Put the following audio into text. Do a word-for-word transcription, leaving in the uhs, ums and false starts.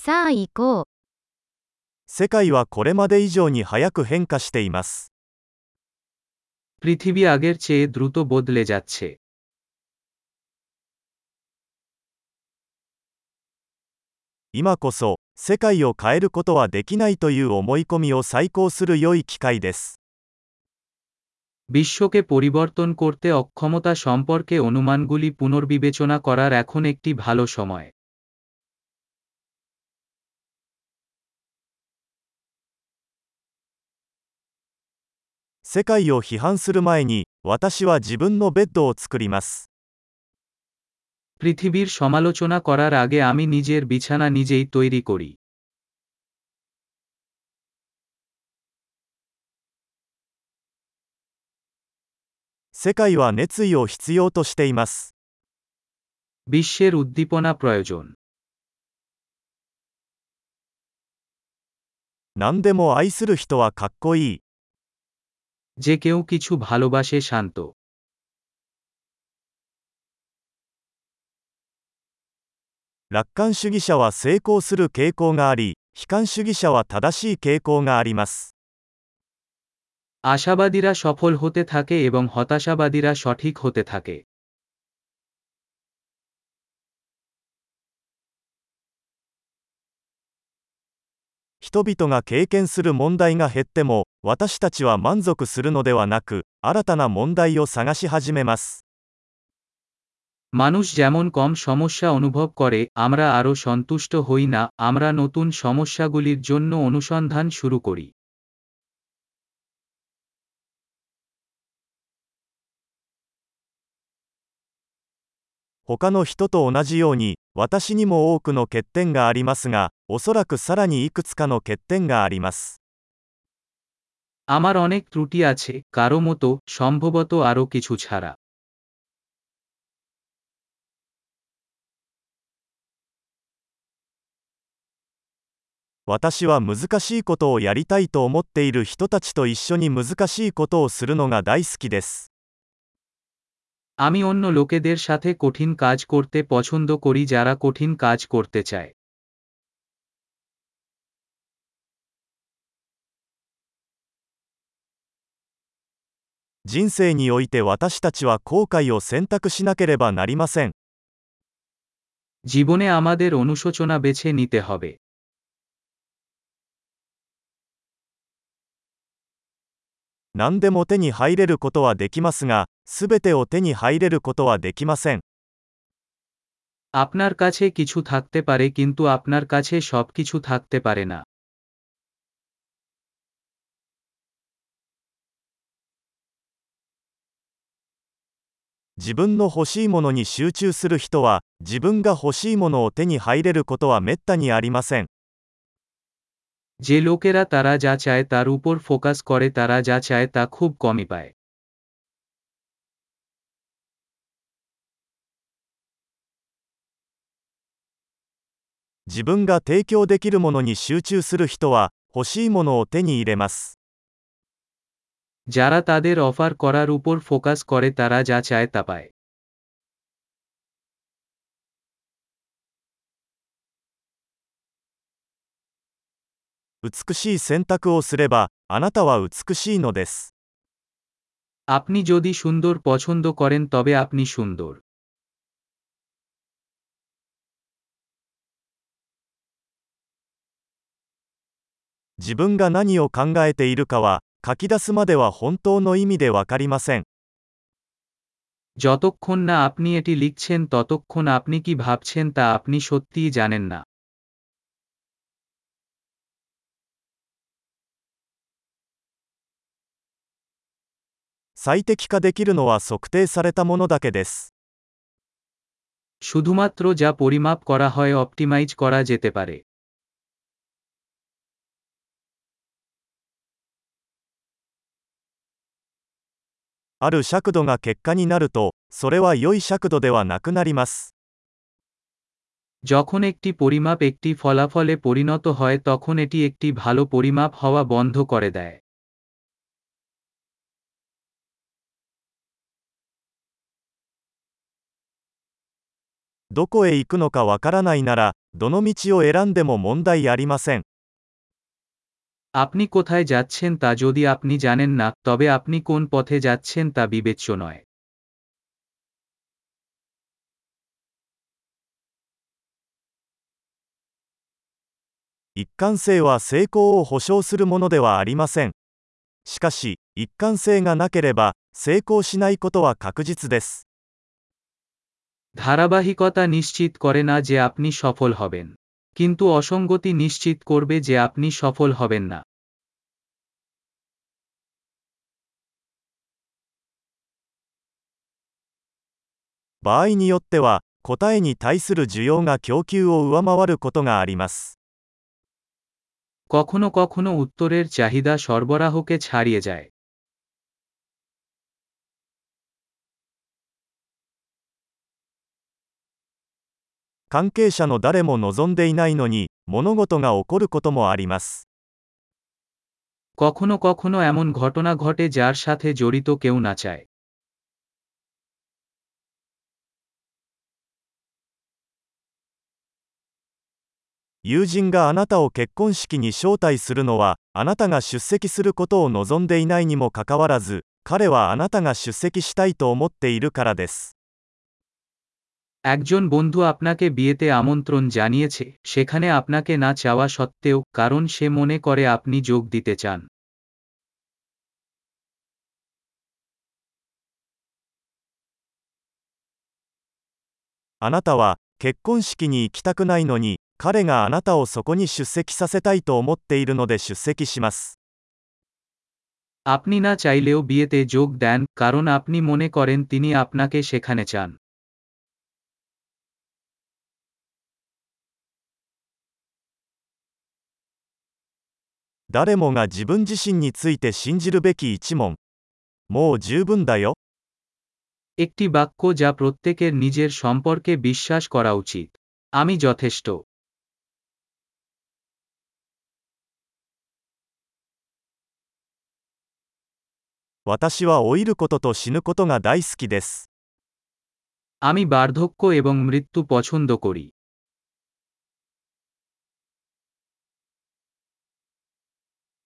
さあ行こう。 世界はこれまで以上に早く変化しています。 পৃথিবী আগের চেয়ে দ্রুত বদলে যাচ্ছে। 今こそ、世界を変えることはできないという思い込みを再考する良い機会です。 বিশ্বকে পরিবর্তন করতে অক্ষমতা সম্পর্কে অনুমানগুলি পুনর্বিবেচনা করার এখন একটি ভালো সময়। 世界を批判する前に、私は自分のベッドを作ります。 পৃথিবীর সমালোচনা করার আগে আমি নিজের বিছানা নিজেই তৈরি করি। 世界は熱意を必要としています。 বিশ্বের উদ্দীপনা প্রয়োজন। 何でも愛する人はかっこいい。 যে কেউ কিছু ভালোবাসে শান্ত। 楽観主義者は成功する傾向があり、悲観主義者は正しい傾向があります。 আশাবাদীরা সফল হতে থাকে এবং হতাশাবাদীরা সঠিক হতে থাকে। 人々が経験する問題が減っても、私たちは満足するのではなく、新たな問題を探し始めます。 মানুষ যেমন কম সমস্যা অনুভব করে, আমরা আরও সন্তুষ্ট হই না, আমরা নতুন সমস্যাগুলির জন্য অনুসন্ধান শুরু করি। 他の人と同じように、私にも多くの欠点がありますが、おそらくさらにいくつかの欠点があります。 আমার অনেক ত্রুটি আছে, কারো মতো, সম্ভবত আরও কিছু ছাড়া। 私は難しいことをやりたいと思っている人たちと一緒に難しいことをするのが大好きです。 আমি অন্য লোকেদের সাথে কঠিন কাজ করতে পছন্দ করি যারা কঠিন কাজ করতে চায়। 人生において私たちは後悔を選択しなければなりません。 জীবনে আমাদের অনুশোচনা বেছে নিতে হবে। 何でも手に入れることはできますが、すべてを手に入れることはできません。 আপনার কাছে কিছু থাকতে পারে কিন্তু আপনার কাছে সবকিছু থাকতে পারে না। 自分の欲しいものに集中する人は、自分が欲しいものを手に入れることはめったにありません。 যে লোকেরা তারা যা চায় তার উপর ফোকাস করে তারা যা চায় তা খুব কমই পায়। 自分が提供できるものに集中する人は、欲しいものを手に入れます。 যারা তাদের অফার করার উপর ফোকাস করে তারা যা চায় তা পায়। 美しい選択をすれば、あなたは美しいのです。 আপনি যদি সুন্দর পছন্দ করেন তবে আপনি সুন্দর। 自分が何を考えているかは、書き出すまでは本当の意味でわかりません。 যতক্ষণ না আপনি এটি লিখছেন ততক্ষণ আপনি কি ভাবছেন তা আপনি সত্যিই জানেন না। 最適化できるのは測定されたものだけです。 শুধুমাত্র যা পরিমাপ করা হয় অপটিমাইজ করা যেতে পারে। ある尺度が結果になると、それは良い尺度ではなくなります。 যখন একটি পরিমাপ একটি ফলাফলে পরিণত হয় তখন এটি একটি ভালো পরিমাপ হওয়া বন্ধ করে দেয়। どこへ行くのかわからないなら、どの道を選んでも問題ありません。 আপনি কোথায় যাচ্ছেন তা যদি আপনি জানেন না, তবে আপনি কোন পথে যাচ্ছেন তা বিবেচ্য নয়। 一貫性は成功を保証するものではありません。しかし、一貫性がなければ、成功しないことは確実です。 ধারাবাহিকতা নিশ্চিত করে না যে আপনি সফল হবেন, কিন্তু অসঙ্গতি নিশ্চিত করবে যে আপনি সফল হবেন না। 場合によっては、答えに対する需要が供給を上回ることがあります。 কখনো কখনো উত্তরের চাহিদা সরবরাহকে ছাড়িয়ে যায়। 関係者の誰も望んでいないのに、物事が起こることもあります。 কখনো কখনো এমন ঘটনা ঘটে যার সাথে জড়িত কেউ না চায়। 友人があなたを結婚式に招待するのは、あなたが出席することを望んでいないにもかかわらず、彼はあなたが出席したいと思っているからです。 একজন বন্ধু আপনাকে বিয়েতে আমন্ত্রণ জানিয়েছে, সেখানে আপনাকে না চাওয়া সত্ত্বেও, কারণ সে মনে করে আপনি যোগ দিতে চান। あなたは結婚式に行きたくないのに、彼があなたをそこに出席させたいと思っているので出席します。 আপনি না চাইলেও বিয়েতে যোগ দেন, কারণ আপনি মনে করেন তিনি আপনাকে সেখানে চান। 誰もが自分自身について信じるべき一問。もう十分だよ。 একটি বাক্য যা প্রত্যেকের নিজের সম্পর্কে বিশ্বাস করা উচিত। আমি যথেষ্ট। 私は老いることと死ぬことが大好きです。 আমি বার্ধক্য এবং মৃত্যু পছন্দ করি।